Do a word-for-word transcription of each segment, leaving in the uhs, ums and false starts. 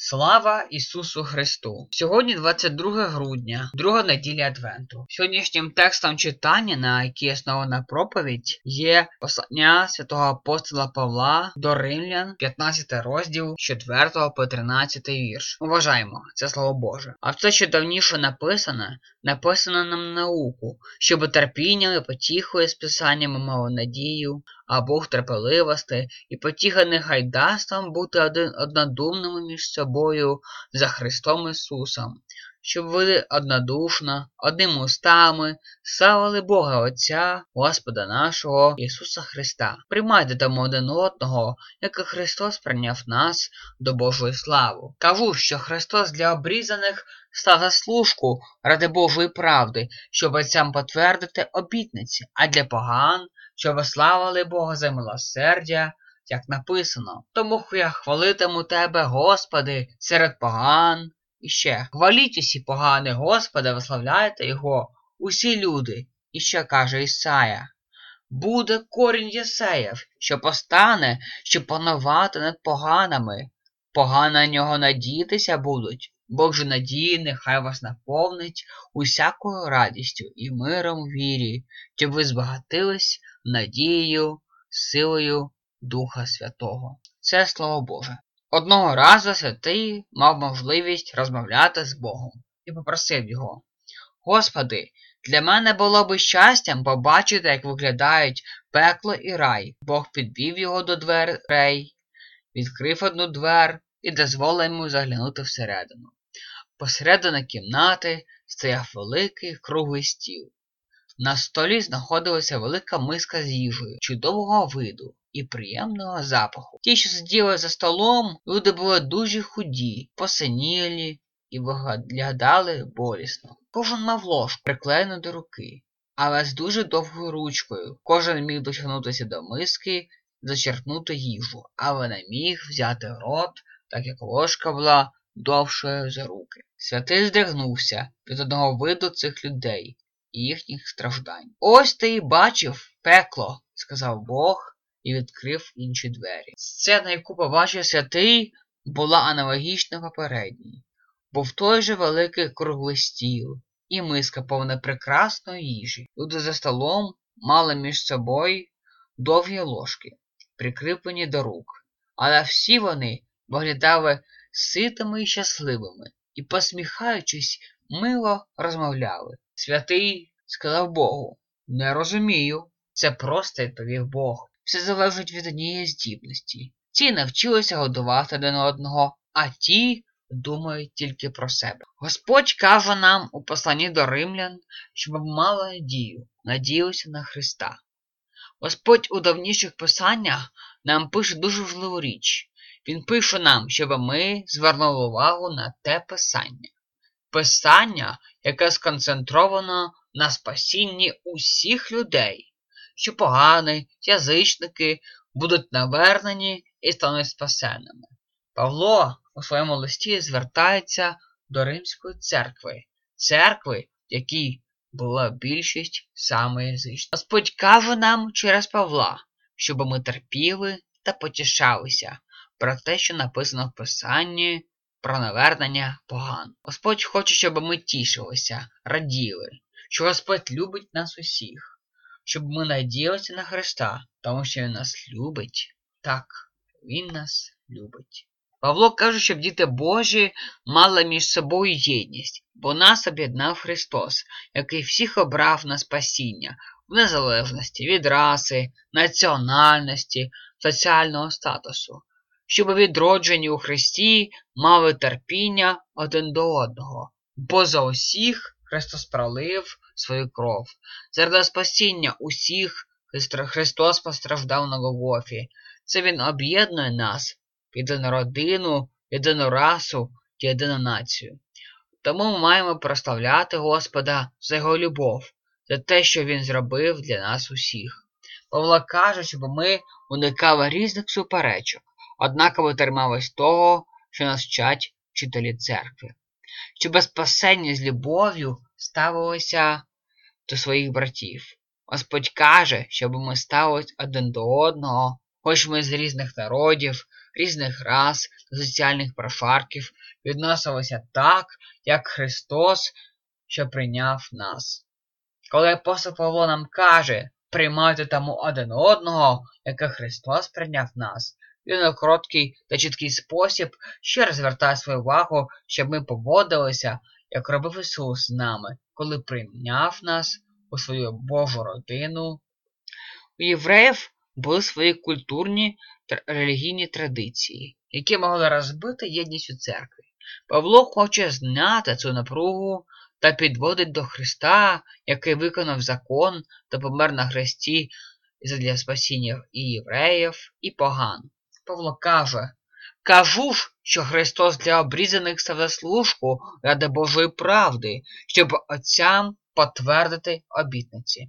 Слава Ісусу Христу! Сьогодні двадцять друге грудня, друга неділя Адвенту. Сьогоднішнім текстом читання, на якій основана проповідь, є послання святого апостола Павла до Римлян, п'ятнадцятий розділ, з четвертого по тринадцятий вірш. Уважаємо, це Слово Боже. А все, що давніше написане, написано нам на науку, щоб терпінням і потіхою з писаннями мало надію, а Бог терпеливости і потіха нехай дасть нам бути один однодумними між собою за Христом Ісусом, щоб ви однодушно, одними устами славили Бога Отця, Господа нашого Ісуса Христа. Приймайте тому один одного, як і Христос прийняв нас до Божої слави. Кажу, що Христос для обрізаних став за служку ради Божої правди, щоб отцям потвердити обітниці, а для поган, щоб славили Бога за милосердя, як написано. Тому я хвалитиму Тебе, Господи, серед поган. І ще, хваліть усі погани Господа, виславляйте Його, усі люди. І ще каже Ісая: буде корінь Єсеєв, що постане, щоб панувати над поганами. Погани на нього надіятися будуть. Бог же надії нехай вас наповнить усякою радістю і миром в вірі, щоб ви збагатились надією, силою Духа Святого. Це Слово Боже. Одного разу святий мав можливість розмовляти з Богом і попросив Його: Господи, для мене було би щастям побачити, як виглядають пекло і рай. Бог підвів його до дверей, відкрив одну двер і дозволив йому заглянути всередину. Посередині кімнати стояв великий круглий стіл. На столі знаходилася велика миска з їжею чудового виду і приємного запаху. Ті, що сиділи за столом, люди були дуже худі, посинілі і виглядали болісно. Кожен мав ложку, приклеєну до руки, але з дуже довгою ручкою. Кожен міг дотягнутися до миски, зачерпнути їжу, але не міг взяти в рот, так як ложка була довшою за руки. Святий здригнувся від одного виду цих людей і їхніх страждань. «Ось ти і бачив пекло», – сказав Бог і відкрив інші двері. Сцена, яку побачив святий, була аналогічна попередній. Був той же великий круглий стіл і миска повна прекрасної їжі. Люди за столом мали між собою довгі ложки, прикріплені до рук, але всі вони виглядали ситими і щасливими і, посміхаючись, мило розмовляли. Святий сказав Богу: «Не розумію». Це просто відповів Бог. Все залежить від однієї здібності. Ці навчилися годувати один одного, а ті думають тільки про себе. Господь каже нам у посланні до Римлян, щоб ми мали надію, надіялися на Христа. Господь у давніших писаннях нам пише дуже важливу річ. Він пише нам, щоб ми звернули увагу на те писання. Писання, яке сконцентровано на спасінні усіх людей, що погані, язичники будуть навернені і стануть спасенними. Павло у своєму листі звертається до Римської церкви, церкви, в якій була більшість саме язичників. Господь каже нам через Павла, щоб ми терпіли та потішалися про те, що написано в Писанні про навернення поган. Господь хоче, щоб ми тішилися, раділи, що Господь любить нас усіх, щоб ми надіялися на Христа, тому що Він нас любить. Так, Він нас любить. Павло каже, щоб діти Божі мали між собою єдність, бо нас об'єднав Христос, який всіх обрав на спасіння, в незалежності від раси, національності, соціального статусу, щоб відроджені у Христі мали терпіння один до одного, бо за усіх Христос пролив свою кров. Заради спасіння усіх Христос постраждав на Голгофі. Це Він об'єднує нас в єдину родину, єдину расу, єдину націю. Тому ми маємо прославляти Господа за Його любов, за те, що Він зробив для нас усіх. Павло каже, щоб ми уникали різних суперечок, однаково тримались того, що нас вчать вчителі церкви. Щоб спасення з любов'ю ставилося до своїх братів. Господь каже, щоб ми ставились один до одного, хоч ми з різних народів, різних рас та соціальних прошарків відносилися так, як Христос, що прийняв нас. Коли апостол Павло нам каже, приймайте тому один одного, як Христос прийняв нас, він у короткий та чіткий спосіб ще раз звертає свою увагу, щоб ми поводилися, як робив Ісус з нами, коли прийняв нас у свою Божу родину. У євреїв були свої культурні та релігійні традиції, які могли розбити єдність у церкві. Павло хоче зняти цю напругу та підводить до Христа, який виконав закон та помер на хресті задля спасіння і євреїв, і поган. Павло каже, «Кажу ж, що Христос для обрізаних став заслужку ради Божої правди, щоб отцям потвердити обітниці».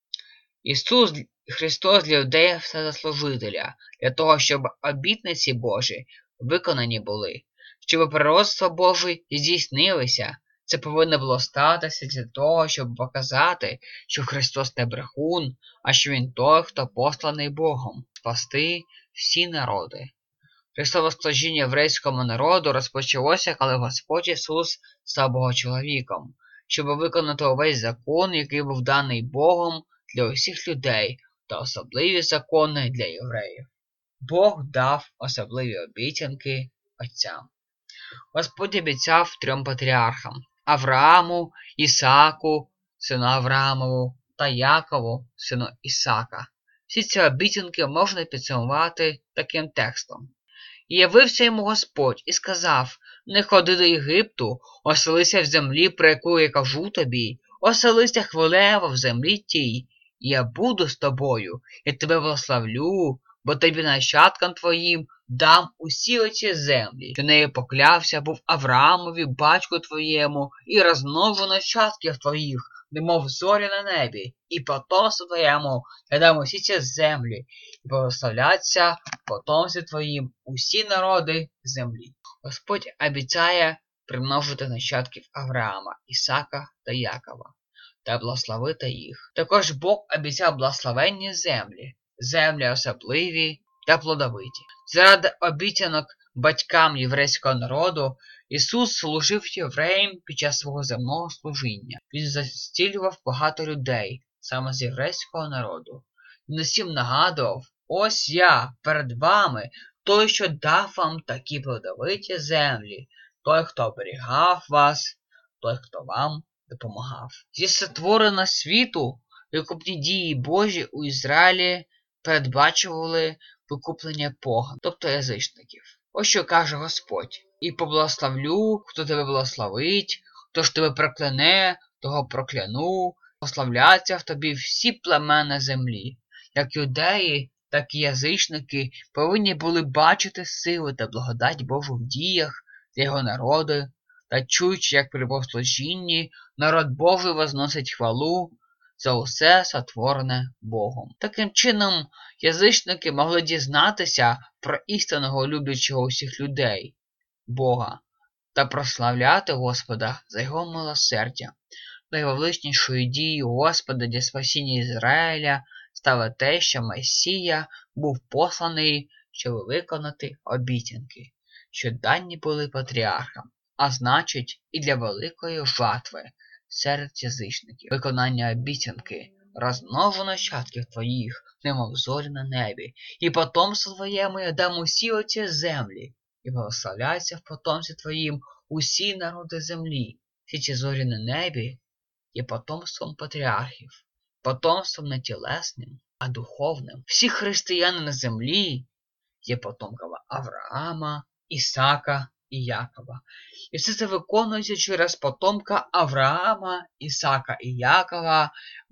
Ісус Христос для людей став заслужителя, для того, щоб обітниці Божі виконані були, щоб пророцтва Божі здійснилися. Це повинно було статися для того, щоб показати, що Христос не брехун, а що Він той, хто посланий Богом, спасти всі народи. Христове служіння єврейському народу розпочалося, коли Господь Ісус став Богочоловіком, щоб виконати увесь закон, який був даний Богом для усіх людей, та особливі закони для євреїв. Бог дав особливі обіцянки отцям. Господь обіцяв трьом патріархам – Аврааму, Ісааку, сину Авраамову, та Якову, сину Ісака. Всі ці обіцянки можна підсумувати таким текстом. «І явився йому Господь і сказав, не ходи до Єгипту, оселися в землі, про яку я кажу тобі, оселися хвилево в землі тій, і я буду з тобою, і тебе благословлю, бо тобі нащадкам твоїм дам усі оці землі, що нею поклявся був Авраамові, батьку твоєму, і розмножу нащадків твоїх, немов зорі на небі, і потомству твоєму я дам усі ці землі, і благословляться потомстві твоїм усі народи землі». Господь обіцяє примножити нащадків Авраама, Ісака та Якова та благословити їх. Також Бог обіцяв благословенні землі, землі особливі та плодовиті. Заради обіцянок батькам єврейського народу Ісус служив євреям під час свого земного служіння. Він зцілював багато людей, саме з єврейського народу. Він усім нагадував, ось я перед вами, той, що дав вам такі плодовиті землі, той, хто оберігав вас, той, хто вам допомагав. Зі сотворення світу викупні дії Божі у Ізраїлі передбачували викуплення поган, тобто язичників. Ось що каже Господь. «І поблагословлю, хто тебе благословить, хто ж тебе прокляне, того прокляну, прославляться в тобі всі племена землі». Як юдеї, так і язичники повинні були бачити сили та благодать Божу в діях для його народу, та чуючи, як при богослужінні народ Божий возносить хвалу за усе сотворене Богом. Таким чином, язичники могли дізнатися про істинного люблячого усіх людей, Бога, та прославляти Господа за його милосердя. Найвеличнішою дією Господа для спасіння Ізраїля стало те, що Месія був посланий, щоб виконати обіцянки, що дані були патріархам, а значить і для великої жатви серед язичників. Виконання обіцянки, розмножу нащадків твоїх, немов зорі на небі, і потомство твоєму я дам усі оці землі, і благословляться в потомстві твоїм усі народи землі. Всі ці зорі на небі є потомством патріархів, потомством не тілесним, а духовним. Всі християни на землі є потомками Авраама, Ісака і Якова. І все це виконується через потомка Авраама, Ісака і Якова,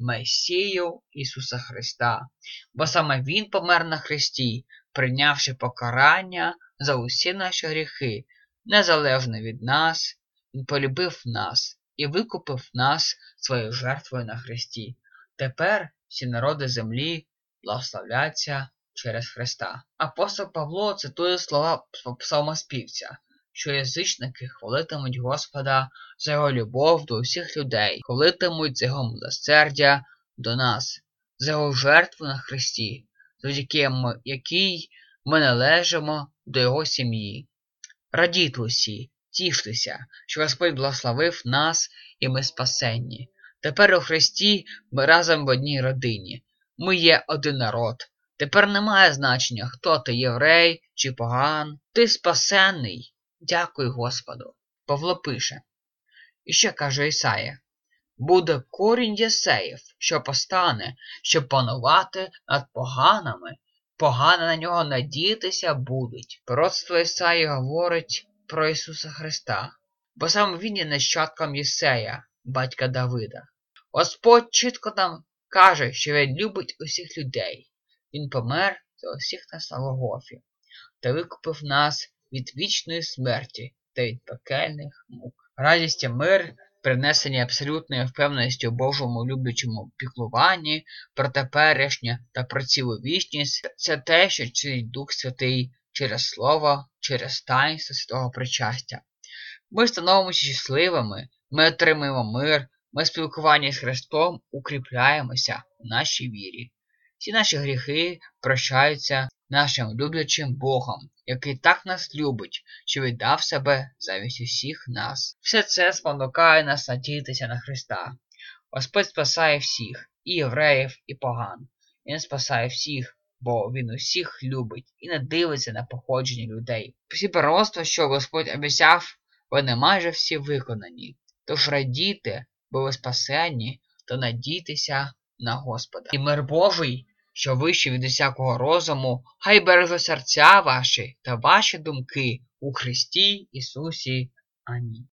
Месію Ісуса Христа. Бо саме Він помер на хресті, прийнявши покарання за усі наші гріхи, незалежно від нас. Він полюбив нас і викупив нас своєю жертвою на хресті. Тепер всі народи землі благословляться через Христа. Апостол Павло цитує слова псалмоспівця, що язичники хвалитимуть Господа за його любов до усіх людей, хвалитимуть за його милосердя до нас, за його жертву на хресті, завдяки якій ми належимо до його сім'ї. Радійте усі, тіштеся, що Господь благословив нас і ми спасенні. Тепер у Христі ми разом в одній родині. Ми є один народ. Тепер немає значення, хто ти, єврей чи поган. Ти спасенний. Дякуй Господу. Павло пише. І ще каже Ісая. Буде корінь Єсеїв, що постане, щоб панувати над поганами. Погано на нього надіятися будуть. Пророцтво Ісаї говорить про Ісуса Христа, бо саме Він є нащадком Єсея, батька Давида. Господь чітко нам каже, що Він любить усіх людей. Він помер за усіх нас на Голгофі та викупив нас від вічної смерті та від пекельних мук. Радість і мир, принесені абсолютною впевненістю у Божому люблячому піклуванні про теперішнє та про цілу вічність, це те, що чинить Дух Святий через Слово, через таїнство святого причастя. Ми становимося щасливими, ми отримуємо мир, ми в спілкуванні з Христом укріпляємося в нашій вірі. Всі наші гріхи прощаються нашим люблячим Богом, який так нас любить, що віддав себе замість усіх нас. Все це спонукає нас надіятися на Христа. Господь спасає всіх, і євреїв, і поган. Він спасає всіх, бо Він усіх любить і не дивиться на походження людей. Всі пророцтва, що Господь обіцяв, вони майже всі виконані. Тож радійте, бо ви спасені, та надійтеся на Господа. І мир Божий, що вище від усякого розуму, хай береже серця ваші та ваші думки у Христі Ісусі. Амінь.